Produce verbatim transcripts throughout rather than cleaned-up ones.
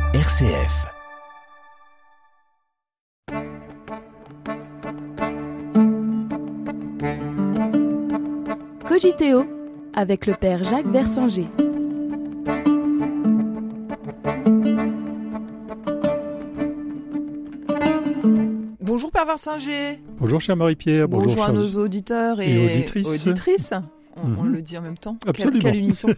R C F. Cogiteo avec le père Jacques Versinger. Bonjour Père Versinger. Bonjour chère Marie-Pierre. Bonjour, bonjour à nos auditeurs et, et auditrices. auditrices. On, Mm-hmm. on le dit en même temps. Absolument. Quelle, quelle unisson.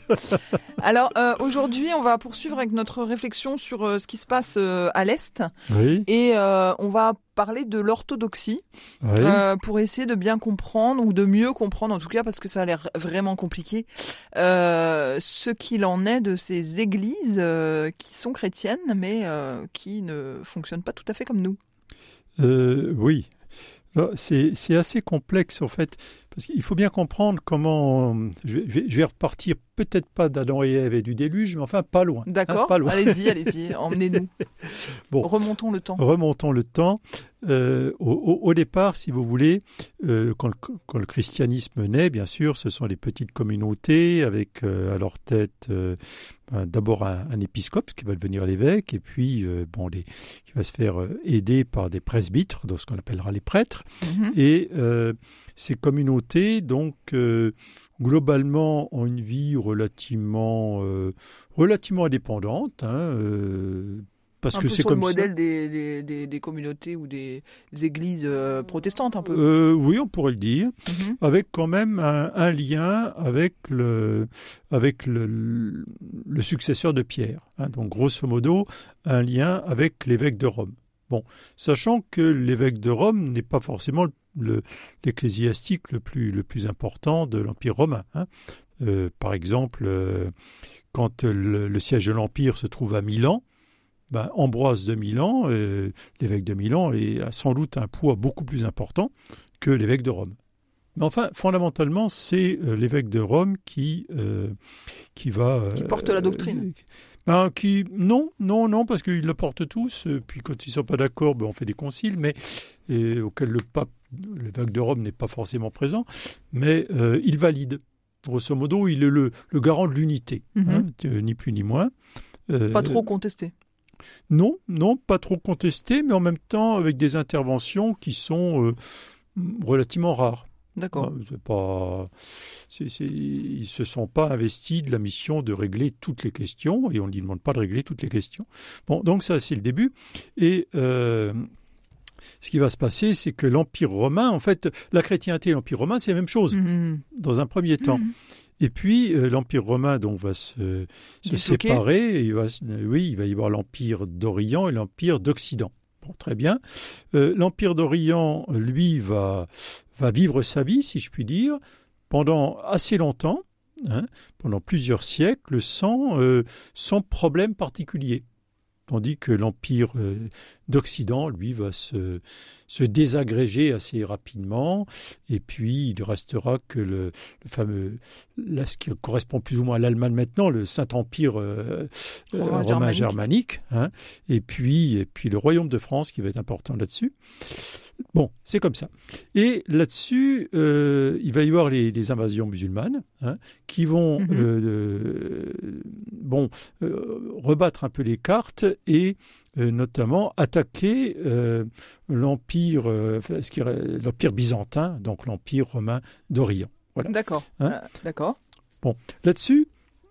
Alors euh, aujourd'hui, on va poursuivre avec notre réflexion sur euh, ce qui se passe euh, à l'Est. Oui. Et euh, on va parler de l'orthodoxie Oui. euh, pour essayer de bien comprendre, ou de mieux comprendre en tout cas, parce que ça a l'air vraiment compliqué, euh, ce qu'il en est de ces églises euh, qui sont chrétiennes, mais euh, qui ne fonctionnent pas tout à fait comme nous. Euh, oui. Alors, c'est, c'est assez complexe en fait, parce qu'il faut bien comprendre comment. Je vais, je vais repartir peut-être pas d'Adam et Ève et du déluge, mais enfin pas loin. D'accord, hein, pas loin. allez-y, allez-y, emmenez-nous. Bon, remontons le temps. Remontons le temps. Euh, au, au, au départ, si vous voulez, euh, quand, le, quand le christianisme naît, bien sûr, ce sont les petites communautés avec euh, à leur tête euh, ben, d'abord un, un épiscope qui va devenir l'évêque, et puis euh, bon, les, qui va se faire euh, aider par des presbytres, donc ce qu'on appellera les prêtres. Mm-hmm. Et euh, ces communautés, donc, euh, globalement, ont une vie relativement, euh, relativement indépendante, hein, euh, parce un que peu c'est sur comme le modèle ça. des, des, des, des communautés ou des, des églises euh, protestantes, un peu. Euh, oui, on pourrait le dire, Mm-hmm. avec quand même un, un lien avec le, avec le, le successeur de Pierre. Hein, donc, grosso modo, un lien avec l'évêque de Rome. Bon, sachant que l'évêque de Rome n'est pas forcément le, le, l'ecclésiastique le plus, le plus important de l'Empire romain. Hein. Euh, par exemple, euh, quand le, le siège de l'Empire se trouve à Milan, ben, Ambroise de Milan, euh, l'évêque de Milan, est, a sans doute un poids beaucoup plus important que l'évêque de Rome. Mais enfin, fondamentalement, c'est euh, l'évêque de Rome qui, euh, qui va... Euh, qui porte la doctrine. Euh, ben, qui, non, non, non, parce qu'ils le portent tous. Euh, puis quand ils ne sont pas d'accord, ben, on fait des conciles, mais et, auxquels le pape, l'évêque de Rome n'est pas forcément présent, mais euh, il valide. Grosso modo, il est le, le garant de l'unité, Mm-hmm. hein, ni plus ni moins. Euh, pas trop contesté. Non, non, pas trop contesté, mais en même temps avec des interventions qui sont euh, relativement rares. D'accord. C'est pas, c'est, c'est, ils ne se sont pas investis de la mission de régler toutes les questions, et on ne lui demande pas de régler toutes les questions. Bon, donc ça, c'est le début. Et euh, ce qui va se passer, c'est que l'Empire romain, en fait, la chrétienté et l'Empire romain, c'est la même chose, Mm-hmm. dans un premier temps. Mm-hmm. Et puis, euh, l'Empire romain donc, va se, se séparer. Et il va, oui, il va y avoir l'Empire d'Orient et l'Empire d'Occident. Bon, très bien. Euh, L'Empire d'Orient, lui, va, va vivre sa vie, si je puis dire, pendant assez longtemps, hein, pendant plusieurs siècles, sans, euh, sans problème particulier. Tandis que l'Empire euh, d'Occident, lui, va se, se désagréger assez rapidement. Et puis, il ne restera que le, le fameux, là, ce qui correspond plus ou moins à l'Allemagne maintenant, le Saint-Empire euh, romain, romain germanique. germanique. Hein, et, puis, et puis, le Royaume de France, qui va être important là-dessus. Bon, c'est comme ça. Et là-dessus, euh, il va y avoir les, les invasions musulmanes hein, qui vont Mm-hmm. euh, bon, euh, rebattre un peu les cartes et euh, notamment attaquer euh, l'empire, euh, ce qui est l'empire byzantin, donc l'empire romain d'Orient. Voilà. D'accord. Hein euh, d'accord. Bon, là-dessus,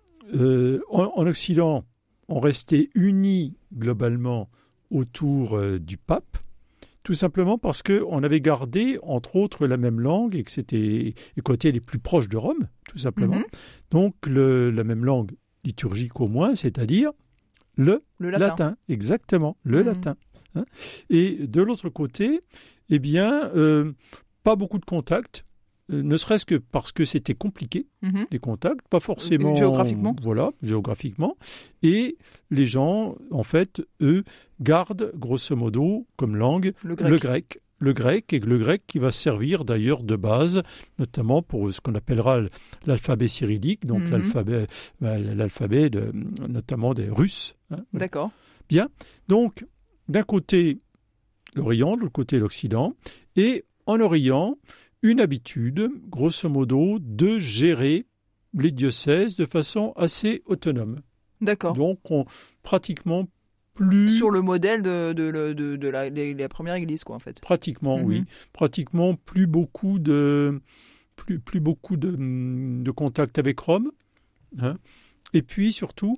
euh, en, en Occident, on restait unis globalement autour euh, du pape. Tout simplement parce qu'on avait gardé, entre autres, la même langue et que c'était et qu'on était les plus proches de Rome, tout simplement. Mm-hmm. Donc, le, la même langue liturgique au moins, c'est-à-dire le, le latin. latin. Exactement, le Mm-hmm. latin. Hein. Et de l'autre côté, eh bien, euh, pas beaucoup de contacts, euh, ne serait-ce que parce que c'était compliqué, Mm-hmm. les contacts, pas forcément... Géographiquement. Voilà, géographiquement. Et les gens, en fait, eux, gardent, grosso modo, comme langue, Le grec. le grec. Le grec, et le grec qui va servir d'ailleurs de base, notamment pour ce qu'on appellera l'alphabet cyrillique, donc Mm-hmm. l'alphabet, l'alphabet de, notamment des Russes. Hein. D'accord. Bien. Donc, d'un côté, l'Orient, de l'autre côté, l'Occident, et en Orient, une habitude, grosso modo, de gérer les diocèses de façon assez autonome. D'accord. Donc, on, pratiquement plus... Sur le modèle de, de, de, de, de, la, de la première église, quoi, en fait. Pratiquement, mm-hmm. oui. Pratiquement plus beaucoup de, plus, plus beaucoup de, de contact avec Rome. Hein. Et puis, surtout,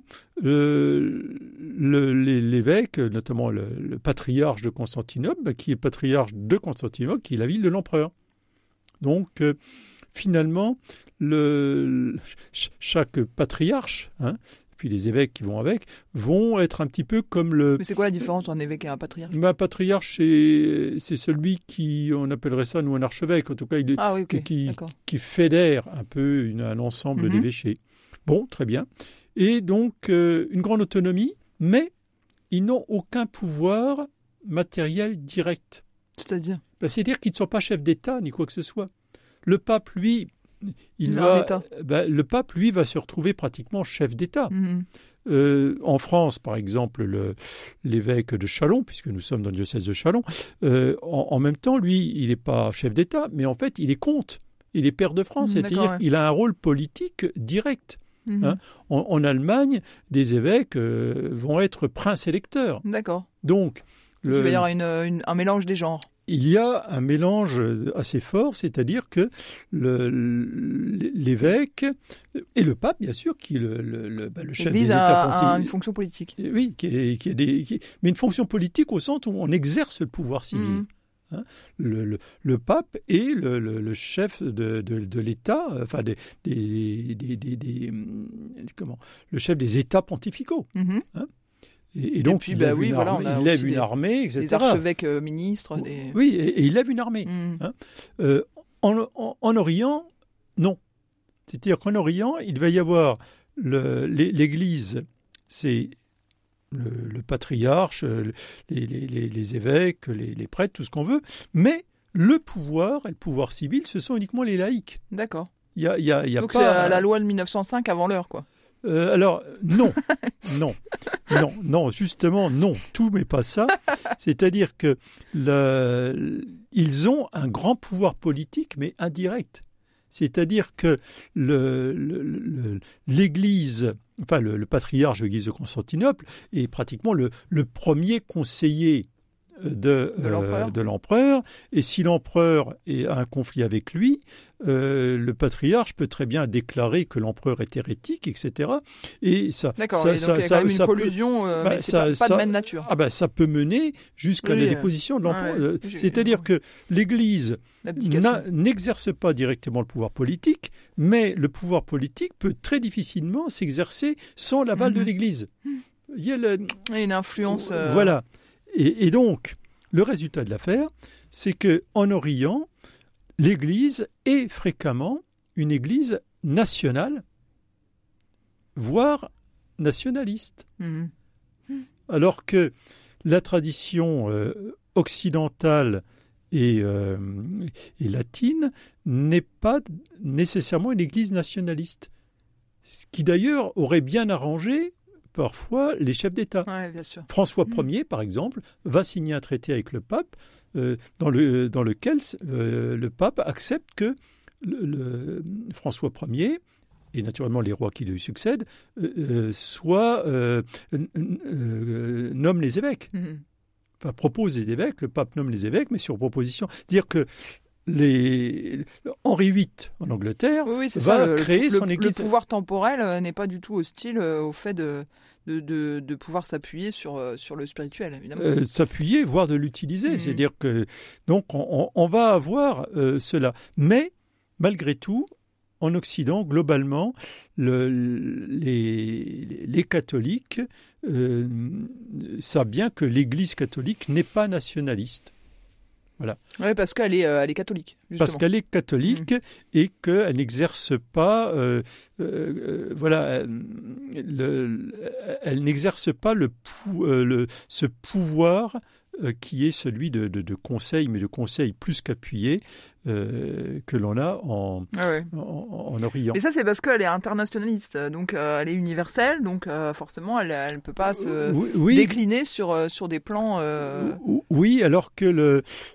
le, le, l'évêque, notamment le, le patriarche de Constantinople, bah, qui est patriarche de Constantinople, qui est la ville de l'empereur. Donc, euh, finalement, le, chaque patriarche, hein, puis les évêques qui vont avec, vont être un petit peu comme le... Mais c'est quoi la différence entre un évêque et un patriarche ? Un patriarche, c'est, c'est celui qui, on appellerait ça, nous, un archevêque, en tout cas, il, ah, oui, okay. qui, qui fédère un peu une, un ensemble mm-hmm. d'évêchés. Bon, très bien. Et donc, euh, une grande autonomie, mais ils n'ont aucun pouvoir matériel direct. C'est-à-dire ? Ben, c'est-à-dire qu'ils ne sont pas chefs d'État, ni quoi que ce soit. Le pape, lui... Il va, ben, le pape, lui, va se retrouver pratiquement chef d'État. Mmh. Euh, en France, par exemple, le, l'évêque de Châlons, puisque nous sommes dans le diocèse de Châlons, euh, en, en même temps, lui, il n'est pas chef d'État, mais en fait, il est comte. Il est pair de France, mmh, c'est-à-dire qu'il ouais. a un rôle politique direct. Mmh. Hein. En, en Allemagne, des évêques euh, vont être princes électeurs. D'accord. Donc, le, il va y avoir une, une, un mélange des genres. Il y a un mélange assez fort, c'est-à-dire que le, l'évêque et le pape, bien sûr, qui est le, le, le, le chef des États pontificaux. a une fonction politique. Oui, qui est, qui est des, qui, mais une fonction politique au sens où on exerce le pouvoir civil. Mmh. Hein, le, le, le pape est le, le, le chef de, de, de l'État, enfin des, des, des, des, des comment, le chef des États pontificaux. Mmh. Hein. Et, et donc, et puis, il lève, bah, oui, une, voilà, armée, il lève une armée, et cetera. Des archevêques euh, ministres. Des... Oui, et, et il lève une armée. Mmh. Hein. Euh, en, en, en Orient, non. C'est-à-dire qu'en Orient, il va y avoir le, l'Église, c'est le, le patriarche, les, les, les, les évêques, les, les prêtres, tout ce qu'on veut, mais le pouvoir et le pouvoir civil, ce sont uniquement les laïcs. D'accord. Il y a, il y a, il y a donc pas, c'est la loi de mille neuf cent cinq avant l'heure, quoi. Euh, alors, non, non, non, non, justement, non, tout mais pas ça. C'est-à-dire que le, ils ont un grand pouvoir politique, mais indirect. C'est-à-dire que le, le, le, l'Église, enfin le, le patriarche de l'Église de Constantinople est pratiquement le, le premier conseiller de, de, l'empereur. Euh, de l'empereur. Et si l'empereur a un conflit avec lui, euh, le patriarche peut très bien déclarer que l'empereur est hérétique, et cetera. Et ça, D'accord, ça, et donc ça, il y a ça, quand même ça une collusion, peut, euh, bah, mais c'est ça, pas, pas ça, de même nature. Ah ben, ça peut mener jusqu'à oui, la déposition de l'empereur. Ouais, oui, C'est-à-dire que l'Église n'exerce pas directement le pouvoir politique, mais le pouvoir politique peut très difficilement s'exercer sans l'aval mm-hmm. de l'Église. Il y a le... une influence... Euh... Voilà. Et, et donc... Le résultat de l'affaire, c'est qu'en Orient, l'Église est fréquemment une Église nationale, voire nationaliste. Mmh. Alors que la tradition euh, occidentale et, euh, et latine n'est pas nécessairement une Église nationaliste. Ce qui d'ailleurs aurait bien arrangé parfois les chefs d'État. Ouais, bien sûr. François Ier, par exemple, va signer un traité avec le pape euh, dans, le, dans lequel euh, le pape accepte que le, le François Ier, et naturellement les rois qui lui succèdent, euh, soit, euh, euh, nomment les évêques. Mm-hmm. Enfin, propose les évêques, le pape nomme les évêques, mais sur proposition. Dire que Les... Henri huit en Angleterre oui, oui, c'est va ça, le, créer le, son église. Le pouvoir temporel euh, n'est pas du tout hostile euh, au fait de, de, de, de pouvoir s'appuyer sur, euh, sur le spirituel, évidemment. Euh, s'appuyer, voire de l'utiliser. Mmh. C'est-à-dire que donc on, on va avoir euh, cela. Mais malgré tout, en Occident, globalement, le, les, les catholiques euh, savent bien que l'Église catholique n'est pas nationaliste. Voilà. Oui, parce qu'elle est, euh, elle est catholique. Justement. Parce qu'elle est catholique mmh. et qu'elle n'exerce pas, euh, euh, voilà, le, elle n'exerce pas le, pou, euh, le, ce pouvoir euh, qui est celui de, de, de conseil, mais de conseil plus qu'appuyé euh, que l'on a en, ah ouais. en, en Orient. Et ça, c'est parce qu'elle est internationaliste, donc euh, elle est universelle, donc euh, forcément, elle ne peut pas se oui, oui. décliner sur, sur des plans... Euh... Oui, alors que le,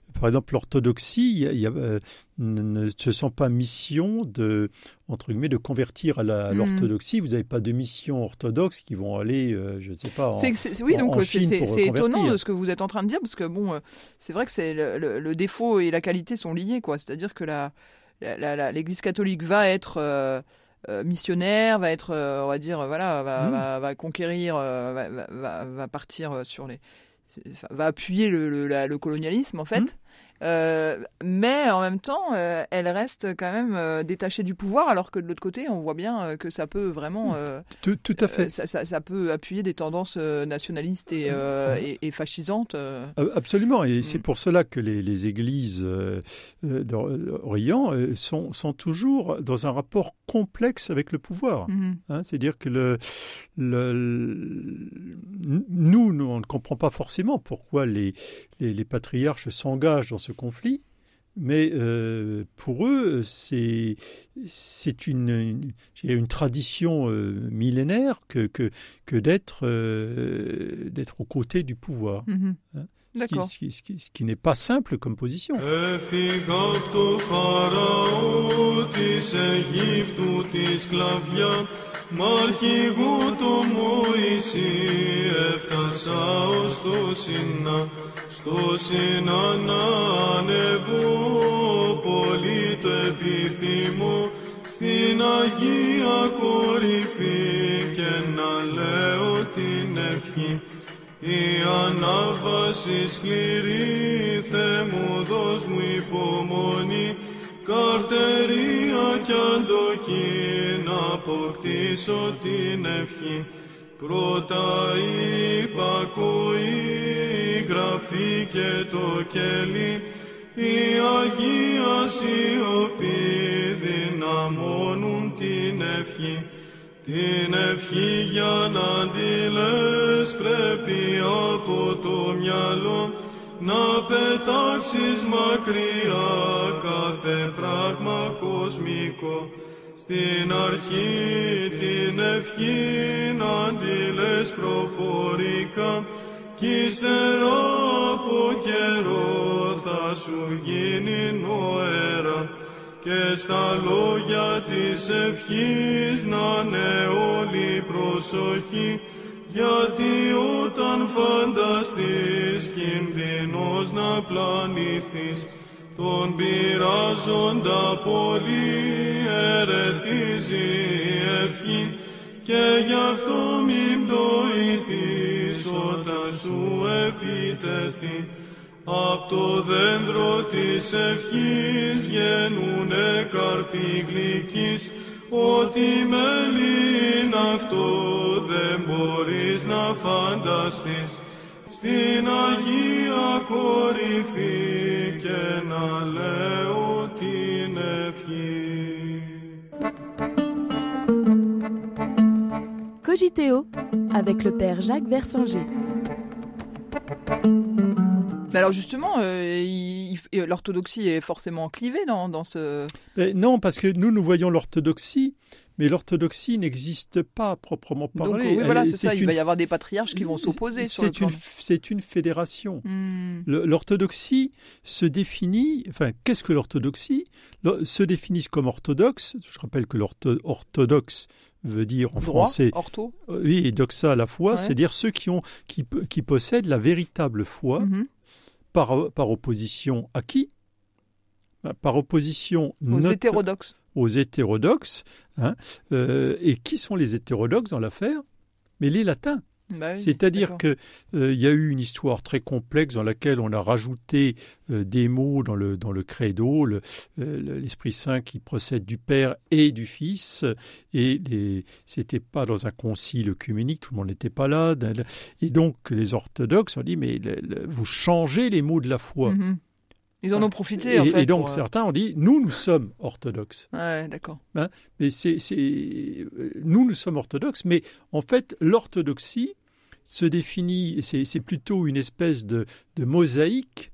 par exemple, l'orthodoxie, il y a, il y a, euh, ne, ne se sent pas mission de, entre guillemets, de convertir à, la, à l'orthodoxie. Mmh. Vous n'avez pas de mission orthodoxe qui vont aller, euh, je ne sais pas, en, c'est, c'est, oui, en, donc en c'est, Chine c'est, pour c'est étonnant convertir. de ce que vous êtes en train de dire, parce que bon, euh, c'est vrai que c'est le, le, le défaut et la qualité sont liés, quoi. C'est-à-dire que la, la, la, la, l'Église catholique va être euh, euh, missionnaire, va être, euh, on va dire, voilà, va, mmh. va, va conquérir, euh, va, va, va partir sur les, va appuyer le, le, la, le colonialisme en fait. Mmh. Euh, mais en même temps, euh, elle reste quand même euh, détachée du pouvoir, alors que de l'autre côté, on voit bien euh, que ça peut vraiment, euh, tout, tout à fait, euh, ça, ça, ça peut appuyer des tendances euh, nationalistes et, euh, et, et fascisantes. Euh. Absolument, et mmh. c'est pour cela que les, les églises euh, d'Orient euh, sont, sont toujours dans un rapport complexe avec le pouvoir. Mmh. Hein, c'est-à-dire que le, le, le, nous, nous, on ne comprend pas forcément pourquoi les, les, les patriarches s'engagent dans ce conflit, mais euh, pour eux, c'est, c'est une, une, une tradition euh, millénaire que, que, que d'être, euh, d'être aux côtés du pouvoir. Mmh. Hein, ce, D'accord. Qui, ce, qui, ce, qui, ce qui n'est pas simple comme position. Μ' αρχηγού το Μωυσή έφτασα ως το Σινά, στο Σινά να ανεβώ, πολύ το επιθυμώ, στην Αγία κορυφή και να λέω την ευχή. Η ανάβαση σκληρή, Θεέ μου δώσ' μου υπομονή, καρτερία κι αντοχή, να αποκτήσω την ευχή. Πρώτα η υπακοή, γραφή και το κελί, η Αγία σιωπή δυναμώνουν την ευχή. Την ευχή για να τη λες πρέπει από το μυαλό να πετάξεις μακριά κάθε πράγμα κοσμικό. Στην αρχή την ευχή να τη λες προφορικά κι ύστερα από καιρό θα σου γίνει νοέρα και στα λόγια της ευχής να είναι όλη προσοχή, γιατί όταν φανταστείς κινδυνός να πλανηθείς, τον πειράζοντα πολύ ερεθίζει η ευχή και γι' αυτό μην πτωηθείς όταν σου επιτεθεί. Απ' το δέντρο της ευχής βγαίνουνε καρποί γλυκείς, ό,τι μέλι είναι αυτό δεν μπορείς να φανταστείς. Στην Αγία κορυφή και να λέω την ευχή. Cogiteo avec le père Jacques Versinger. Mais alors justement, euh, il, il, l'orthodoxie est forcément clivée dans, dans ce... Mais non, parce que nous, nous voyons l'orthodoxie, mais l'orthodoxie n'existe pas proprement parlé. Donc oui, voilà, c'est, c'est ça, une, il va y avoir des patriarches qui vont s'opposer sur le plan. Une, c'est une fédération. Hmm. Le, l'orthodoxie se définit... Enfin, qu'est-ce que l'orthodoxie ? Le, se définissent comme orthodoxe. Je rappelle que l'orthodoxe veut dire en droit, français... ortho. Oui, et doxa à la fois, ouais. c'est-à-dire ceux qui, ont, qui, qui possèdent la véritable foi, mm-hmm. par, par opposition à qui ? Par opposition... Aux notre, hétérodoxes. Aux hétérodoxes. Hein, euh, et qui sont les hétérodoxes dans l'affaire ? Mais les latins. Bah oui, C'est-à-dire qu'il euh, y a eu une histoire très complexe dans laquelle on a rajouté euh, des mots dans le, dans le credo, le, euh, l'Esprit Saint qui procède du Père et du Fils, et les, c'était pas dans un concile œcuménique, tout le monde n'était pas là, et donc les orthodoxes ont dit, mais le, le, vous changez les mots de la foi. Mm-hmm. Ils en ont profité, et, en fait. Et donc, pour... certains ont dit, nous, nous sommes orthodoxes. Ouais, d'accord. Hein, mais c'est, c'est, nous, nous sommes orthodoxes, mais en fait, l'orthodoxie se définit, c'est, c'est plutôt une espèce de, de mosaïque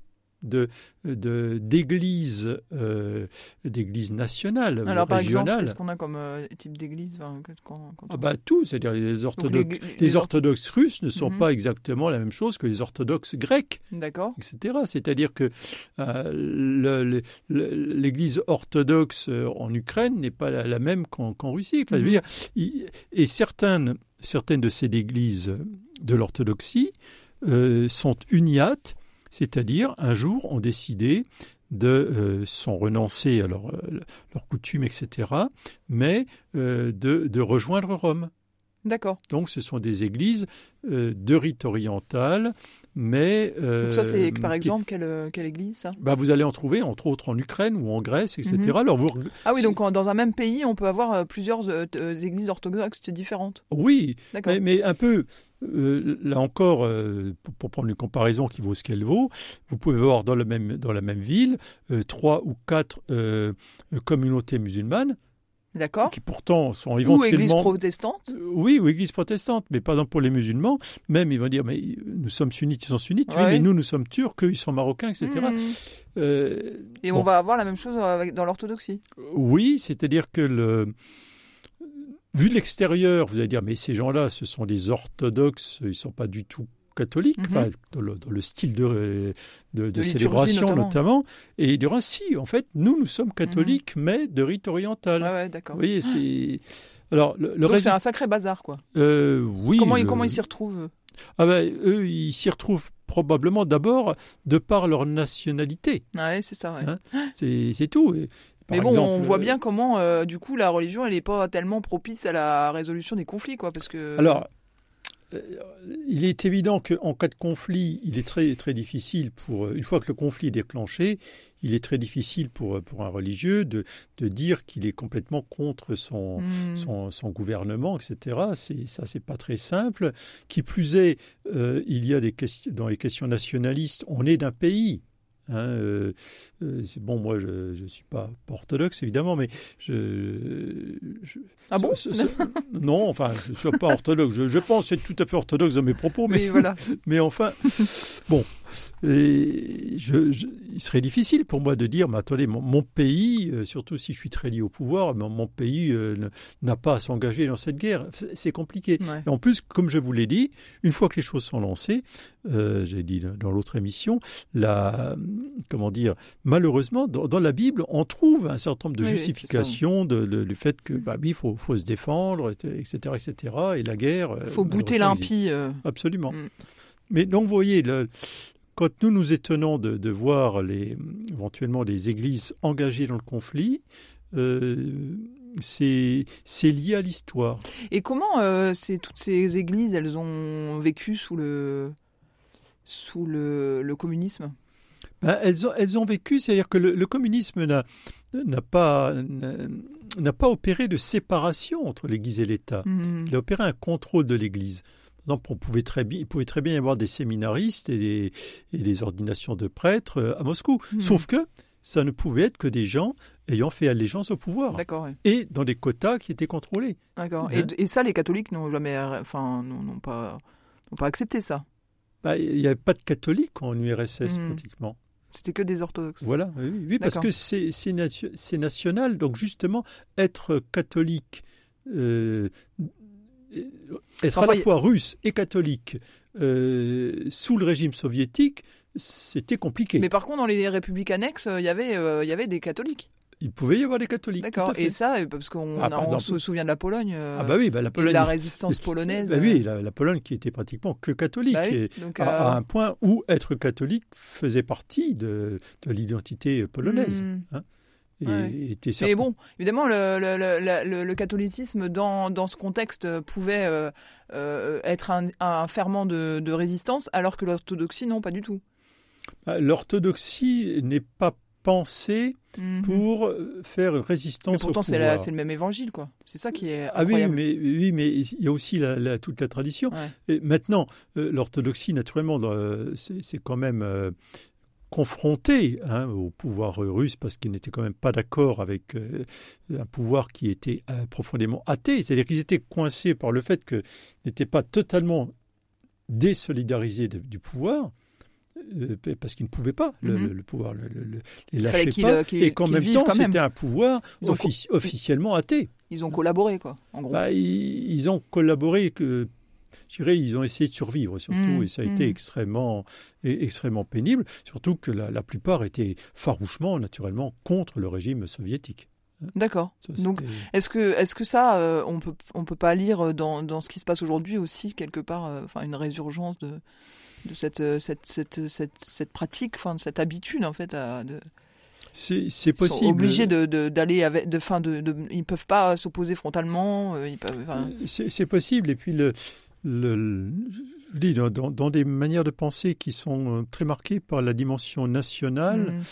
de, de, d'églises, euh, d'églises nationales, Alors, par exemple, régionales. qu'est-ce qu'on a comme euh, type d'église enfin, quand, quand Ah on... bah, tout, c'est-à-dire les orthodoxes, les- les, les or- orthodoxes russes ne sont Mhm. pas exactement la même chose que les orthodoxes grecs, D'accord. et cetera. C'est-à-dire que euh, le- le- le- l'Église orthodoxe euh, en Ukraine n'est pas la, la même qu'en, qu'en Russie. Enfin, je veux Mhm. dire, il- et certaines, certaines de ces églises de l'orthodoxie euh, sont uniates, c'est-à-dire un jour ont décidé de euh, sont renoncés à leur, euh, leurs coutumes, et cetera, mais euh, de, de rejoindre Rome. D'accord. Donc, ce sont des églises euh, de rite oriental, mais... euh, Donc ça, c'est par qui- exemple quelle, euh, quelle église, ça? bah, vous allez en trouver, entre autres, en Ukraine ou en Grèce, et cetera. Mhm. Alors, vous, Ah oui, si- donc en- dans un même pays, on peut avoir euh, plusieurs euh, t- euh, églises orthodoxes différentes. Oui, D'accord. mais, mais un peu, euh, là encore, euh, pour, pour prendre une comparaison qui vaut ce qu'elle vaut, vous pouvez avoir dans, le même, dans la même ville euh, trois ou quatre euh, communautés musulmanes, D'accord. qui pourtant sont Ou église éventuellement... protestante. Euh, Oui, ou église protestante, mais par exemple pour les musulmans, même ils vont dire, mais nous sommes sunnites, ils sont sunnites, oui, Ouais. mais nous, nous sommes turcs, eux, ils sont marocains, et cetera. Mhm. Euh, Et bon, on va avoir la même chose avec- dans l'orthodoxie. Oui, c'est-à-dire que le... vu de l'extérieur, vous allez dire, mais ces gens-là, ce sont des orthodoxes, ils ne sont pas du tout catholiques, Mhm. enfin, dans, le, dans le style de, de, de liturgie célébration notamment. notamment. Et il dira, si, en fait, nous, nous sommes catholiques, mais de rite oriental. Ouais, ouais, d'accord. Vous voyez, c'est... Alors, le, le Donc c'est résultat- un sacré bazar, quoi. euh, oui, Comment, ils- euh, comment ils s'y retrouvent eux Ah ben, eux, ils s'y retrouvent probablement d'abord de par leur nationalité. Ouais, c'est ça, ouais. Hein C'est, c'est tout. Et, par Mais bon, exemple, on voit euh, bien comment, euh, du coup, la religion, elle n'est pas tellement propice à la résolution des conflits, quoi, parce que... Alors, euh, il est évident qu'en cas de conflit, il est très, très difficile pour, une fois que le conflit est déclenché, il est très difficile pour, pour un religieux de, de dire qu'il est complètement contre son, Hmm. son, son gouvernement, et cetera. C'est, ça, c'est pas très simple. Qui plus est, euh, il y a des questions, dans les questions nationalistes, on est d'un pays. Hein, euh, euh, c'est bon, moi je ne suis pas, pas orthodoxe évidemment, mais je. je Ah bon ce- ce- Non, enfin, je ne suis pas orthodoxe. Je, je pense être tout à fait orthodoxe dans mes propos, mais, Mais voilà. mais enfin, bon. Et je, je- il serait difficile pour moi de dire, mais attendez, mon, mon pays, euh, surtout si je suis très lié au pouvoir, mon, mon pays euh, ne- n'a pas à s'engager dans cette guerre. C'est, c'est compliqué. Ouais. Et en plus, comme je vous l'ai dit, une fois que les choses sont lancées, euh, j'ai dit dans l'autre émission, la, comment dire, malheureusement, dans, dans la Bible, on trouve un certain nombre de Oui, oui, justifications de, de- du fait que, bah oui, il faut, faut se défendre, et cetera, et cetera. Et la guerre. euh, Il faut bouter malheureusement, existe. l'impie. euh. Absolument. Mm. Mais donc, vous voyez, le, quand nous nous étonnons de, de voir les, éventuellement les églises engagées dans le conflit, euh, c'est, c'est lié à l'histoire. Et comment euh, c'est, toutes ces églises, elles ont vécu sous le, sous le, le communisme? Ben, elles, ont, elles ont vécu, c'est-à-dire que le, le communisme n'a, n'a, pas, n'a, n'a pas opéré de séparation entre l'Église et l'État. Hmm. Il a opéré un contrôle de l'Église. Par exemple, on pouvait très bien, il pouvait très bien y avoir des séminaristes et des, et des ordinations de prêtres euh, à Moscou. Mhm. Sauf que ça ne pouvait être que des gens ayant fait allégeance au pouvoir. D'accord, ouais. Et dans des quotas qui étaient contrôlés. D'accord. Hein? Et, et ça, les catholiques n'ont jamais, enfin, n'ont, n'ont pas, n'ont pas accepté ça. Bah, il n'y avait pas de catholiques en U R S S Mhm. pratiquement. C'était que des orthodoxes. Voilà, oui, oui, oui, parce D'accord. que c'est, c'est, nation- c'est national. Donc justement, être catholique, euh, être Enfin, à la y- fois russe et catholique euh, sous le régime soviétique, c'était compliqué. Mais par contre, dans les républiques annexes, il y avait, euh, il y avait des catholiques. Il pouvait y avoir des catholiques. D'accord. tout à fait. Et ça, euh, parce qu'on Ah, a- par on exemple. se souvient de la Pologne. euh, Ah bah oui, bah la et de Pologne. la résistance polonaise. Bah oui, la, la Pologne qui était pratiquement que catholique. Bah oui, et donc, à, euh, à un point où être catholique faisait partie de, de l'identité polonaise. hmm. Hein, et Ouais. était Mais certain- bon, évidemment, le, le, le, le, le catholicisme, dans, dans ce contexte, pouvait euh, euh, être un, un ferment de, de résistance, alors que l'orthodoxie, non, pas du tout. Bah, l'orthodoxie n'est pas pensée Mhm. pour euh, faire résistance Mais pourtant, au c'est, pouvoir. la- c'est le même évangile, quoi. C'est ça qui est Ah oui, incroyable. mais, oui, mais il y a aussi la, la- toute la tradition. Ouais. Et maintenant, euh, l'orthodoxie, naturellement, euh, c'est, c'est quand même euh, confronté hein, au pouvoir russe parce qu'ils n'étaient quand même pas d'accord avec euh, un pouvoir qui était euh, profondément athée. C'est-à-dire qu'ils étaient coincés par le fait qu'ils n'étaient pas totalement désolidarisés de- du pouvoir, euh, parce qu'ils ne pouvaient pas le, Mhm. le, le pouvoir, le, le, le- les Il lâcher fallait qu'ils, pas, euh, qu'ils- et qu'en qu'ils même vivent temps, quand même. c'était un pouvoir Ils ont offici- officiellement athée. Ils ont collaboré, quoi, en gros. Bah, ils, ils ont collaboré, que, je dirais, ils ont essayé de survivre, surtout, Mmh, et ça a été mmh. extrêmement, et- extrêmement pénible, surtout que la, la plupart étaient farouchement, naturellement, contre le régime soviétique. D'accord. Ça, Donc, c'était- est-ce que, est-ce que ça, euh, on peut, on peut pas lire dans, dans ce qui se passe aujourd'hui aussi, quelque part, euh, enfin, une résurgence de, de cette, euh, cette, cette, cette, cette pratique, enfin, de cette habitude, en fait, à, de, c'est, c'est ils sont possible. obligés de, de, d'aller avec, de, fin, de, de, ils peuvent pas s'opposer frontalement, euh, ils peuvent, enfin, C'est, c'est possible. Et puis, le, le, le- je vous dis, dans, dans, dans des manières de penser qui sont euh, très marquées par la dimension nationale, mm,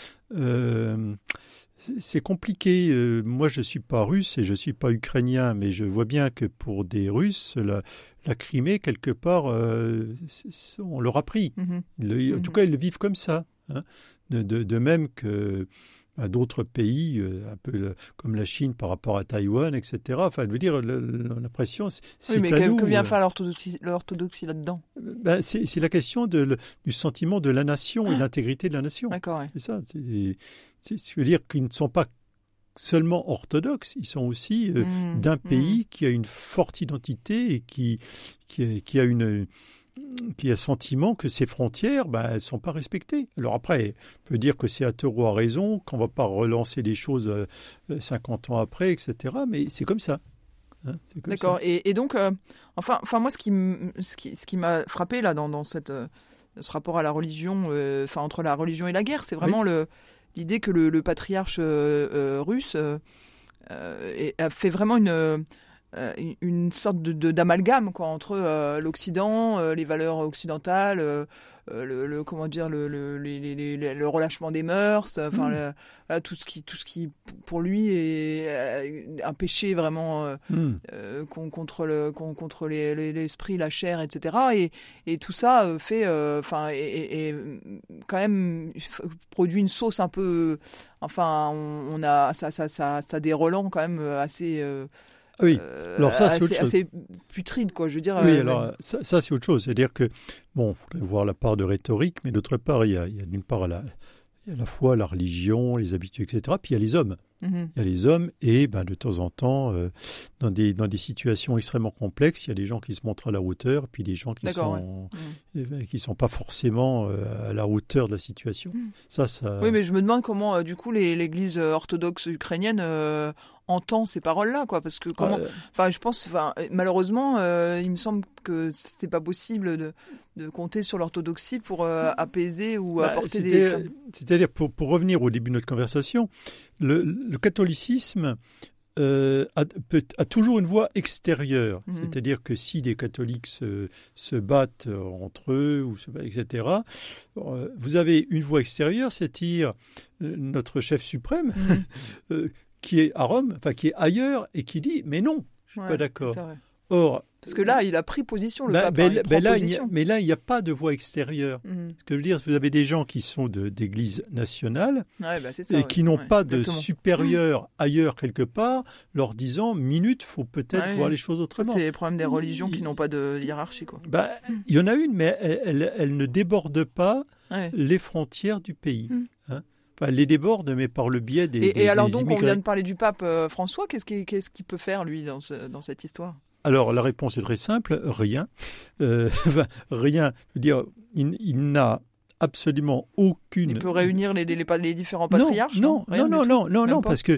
euh, c'est, c'est compliqué. Euh, moi, je ne suis pas russe et je ne suis pas ukrainien, mais je vois bien que pour des Russes, la, la Crimée, quelque part, euh, c'est- c'est- on leur a pris. mhm. Ils le- en tout Mhm. cas, ils le vivent comme ça. Hein. De, de, de même que à d'autres pays, euh, un peu le- comme la Chine par rapport à Taïwan, et cetera. Enfin, je veux dire, le- le- l'impression, c'est, c'est Oui, mais à que, nous. que vient euh, faire l'orthodoxie, l'orthodoxie là-dedans? ben, c'est, c'est la question de, le- du sentiment de la nation et de l'intégrité de la nation. D'accord, ouais. C'est ça. C'est, c'est, je veux dire qu'ils ne sont pas seulement orthodoxes, ils sont aussi euh, Mm, d'un mm. pays qui a une forte identité et qui, qui, a, qui a une qui a le sentiment que ses frontières, ben, elles ne sont pas respectées. Alors après, on peut dire que c'est à tort ou à raison, qu'on ne va pas relancer les choses euh, cinquante ans après, et cetera. Mais c'est comme ça. Hein, c'est comme D'accord. ça. Et, et donc, euh, enfin, enfin, moi, ce qui, m- ce qui, ce qui m'a frappé là dans, dans cette, euh, ce rapport à la religion, euh, enfin entre la religion et la guerre, c'est vraiment le, l'idée que le, le patriarche euh, euh, russe euh, euh, est- a fait vraiment une, euh, une- une sorte de, de- d'amalgame quoi entre euh, l'Occident, euh, les valeurs occidentales, euh, euh, le, le- comment dire, le, le, les- les- les- le relâchement des mœurs, enfin Mm. le- voilà, tout ce qui, tout ce qui pour lui est euh, un péché vraiment. euh, Hmm. euh, con- contre le con- contre les- les- l'esprit, la chair, et cetera. Et, et tout ça euh, fait, enfin, et, et- et, quand même f- produit une sauce un peu, enfin, on, on a ça, ça, ça, ça a des relents quand même assez, euh, Ah oui. euh, Alors ça, c'est assez, autre chose. assez putride, quoi. Je veux dire. Oui, euh, alors ça, ça, c'est autre chose. C'est-à-dire que, bon, il faudrait voir la part de rhétorique, mais d'autre part, il y a, il y a d'une part la, il y a la foi, la religion, les habitudes, et cetera. Puis il y a les hommes. mhm. Il y a les hommes et ben, de temps en temps, euh, dans, des, dans des situations extrêmement complexes, il y a des gens qui se montrent à la hauteur, puis des gens qui D'accord, sont ouais. euh, qui sont pas forcément euh, à la hauteur de la situation. Mm. Ça, ça. Oui, mais je me demande comment, euh, du coup, les- l'Église euh, orthodoxe ukrainienne euh, entend ces paroles-là, quoi, parce que comment. Euh, Enfin, je pense, enfin, malheureusement, euh, il me semble que c'est pas possible de, de compter sur l'orthodoxie pour euh, apaiser ou bah, apporter des. c'était- C'est-à-dire, pour, pour revenir au début de notre conversation, le, le catholicisme euh, a, peut- a toujours une voix extérieure. Mhm. C'est-à-dire que si des catholiques se, se battent euh, entre eux, ou se, et cetera, euh, vous avez une voix extérieure, c'est-à-dire euh, notre chef suprême, Mhm. euh, qui est à Rome, enfin qui est ailleurs, et qui dit « mais non, je suis Ouais, pas d'accord c'est ça, ouais. ». Or, Parce que là, il a pris position, le ben- pape. ben- hein, il ben prend là, il n'y a- position. mais là, il n'y a pas de voix extérieure. Mhm. Ce que je veux dire, vous avez des gens qui sont de- d'église nationale Ouais, bah, c'est ça, et ouais. qui n'ont Ouais, pas de exactement. supérieur ailleurs quelque part, leur disant minute, faut peut-être Ouais, voir ouais. les choses Ça, autrement. c'est les problèmes des religions qui n'ont pas de hiérarchie, quoi. Ben, il y en a une, mais elle, elle- elle ne déborde pas Ouais. les frontières du pays. Mm. Hein. Enfin, elle les déborde, mais par le biais des. Et, des- et alors des donc, on immigrés. vient de parler du pape euh, François. Qu'est-ce qu'il qu'est-ce qu'il peut faire, lui, dans, ce- dans cette histoire? Alors, la réponse est très simple, rien. Euh, enfin, rien. Je veux dire, il, il n'a absolument aucune. Il peut réunir les, les, les différents Non, patriarches? Non, Rien non, du non, tout non, non, Même non, pas parce que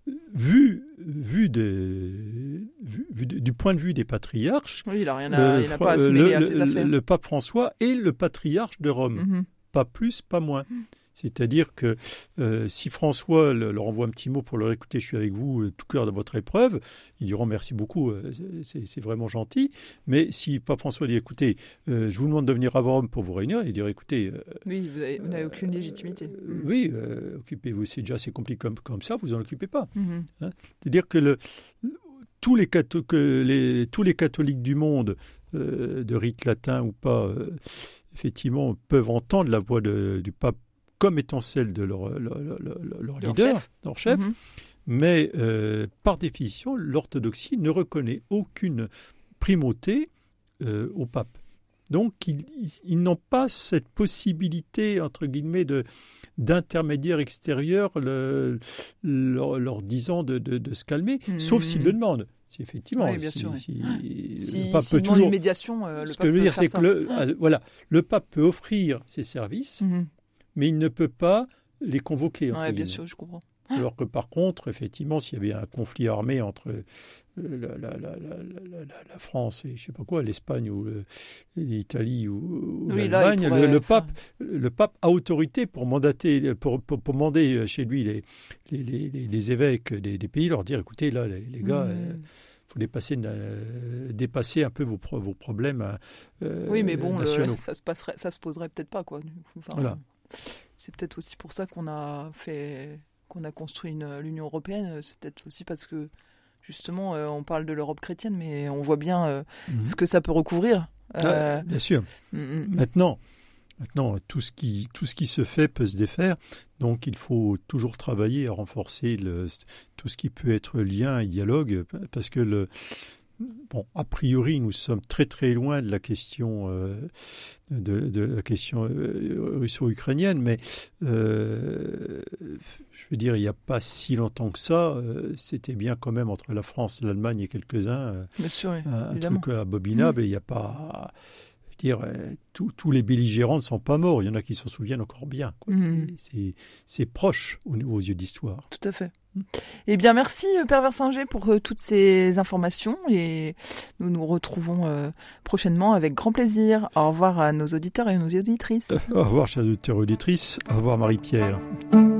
vu, vu, des, vu, vu de- du point de vue des patriarches, Oui, il n'a rien à, le, il n'a pas à se le- mêler à le- ses affaires. le pape François est le patriarche de Rome, Mhm. pas plus, pas moins. C'est-à-dire que euh, si François le- leur envoie un petit mot pour leur écouter, je suis avec vous, euh, tout cœur de votre épreuve, ils diront merci beaucoup, euh, c'est c'est vraiment gentil. Mais si Pape François dit écoutez, euh, je vous demande de venir à Rome pour vous réunir, il dirait écoutez, euh, Oui, vous avez- vous n'avez aucune légitimité. euh, oui, euh, occupez-vous, c'est déjà assez compliqué comme, comme ça, vous en occupez pas. Mhm. C'est-à-dire que le, tous, les catho- que les, tous les catholiques du monde, euh, de rite latin ou pas, euh, effectivement, peuvent entendre la voix de- du pape comme étant celle de leur, leur, leur- leur- leur Leur leader, chef. leur chef. Mhm. Mais euh, par définition, l'orthodoxie ne reconnaît aucune primauté euh, au pape. Donc, ils, ils n'ont pas cette possibilité, entre guillemets, de, d'intermédiaire extérieur le, leur, leur disant de, de, de se calmer, mmh. sauf s'ils le demandent. Si effectivement, oui, bien si, sûr, si, oui. si, si le pape si peut toujours. Une médiation, euh, le Ce pape que je veux dire, faire c'est ça. que le, ah. voilà, le pape peut offrir ses services, Mmh. mais il ne peut pas les convoquer. Oui, bien sûr, je comprends. Alors que par contre, effectivement, s'il y avait un conflit armé entre la, la, la, la, la, la France et je sais pas quoi, l'Espagne ou le, l'Italie ou, ou oui, l'Allemagne, là, le, le pape, le pape a autorité pour mandater, pour, pour, pour demander chez lui les, les, les, les évêques des, des pays, leur dire, écoutez, là, les, les gars. Mmh. Euh, faut dépasser, euh, dépasser un peu vos, pro, vos problèmes euh, oui, mais bon, nationaux. Le, ça se passerait, ça se poserait peut-être pas, quoi. Enfin, voilà. C'est peut-être aussi pour ça qu'on a fait, qu'on a construit une, l'Union européenne. C'est peut-être aussi parce que justement, euh, on parle de l'Europe chrétienne, mais on voit bien euh, mm-hmm. ce que ça peut recouvrir. Euh, ah, bien sûr. Mm-hmm. Maintenant. Maintenant, tout ce, qui, tout ce qui se fait peut se défaire, donc il faut toujours travailler à renforcer le, tout ce qui peut être lien et dialogue, parce que, le, bon, a priori, nous sommes très très loin de la question, euh, de, de la question euh, russo-ukrainienne, mais euh, je veux dire, il n'y a pas si longtemps que ça, euh, c'était bien quand même entre la France, l'Allemagne et quelques-uns, euh, bien sûr, oui, un, un évidemment. truc abominable, mmh. et il n'y a pas... Dire, tous, tous les belligérants ne sont pas morts. Il y en a qui s'en souviennent encore bien. Quoi. Mmh. C'est, c'est, c'est proche aux, aux yeux d'histoire. Tout à fait. Mmh. Eh bien, merci Père Versinger pour euh, toutes ces informations et nous nous retrouvons euh, prochainement avec grand plaisir. Au revoir à nos auditeurs et nos auditrices. Euh, au revoir, chers auditeurs et auditrices. Au revoir, Marie-Pierre.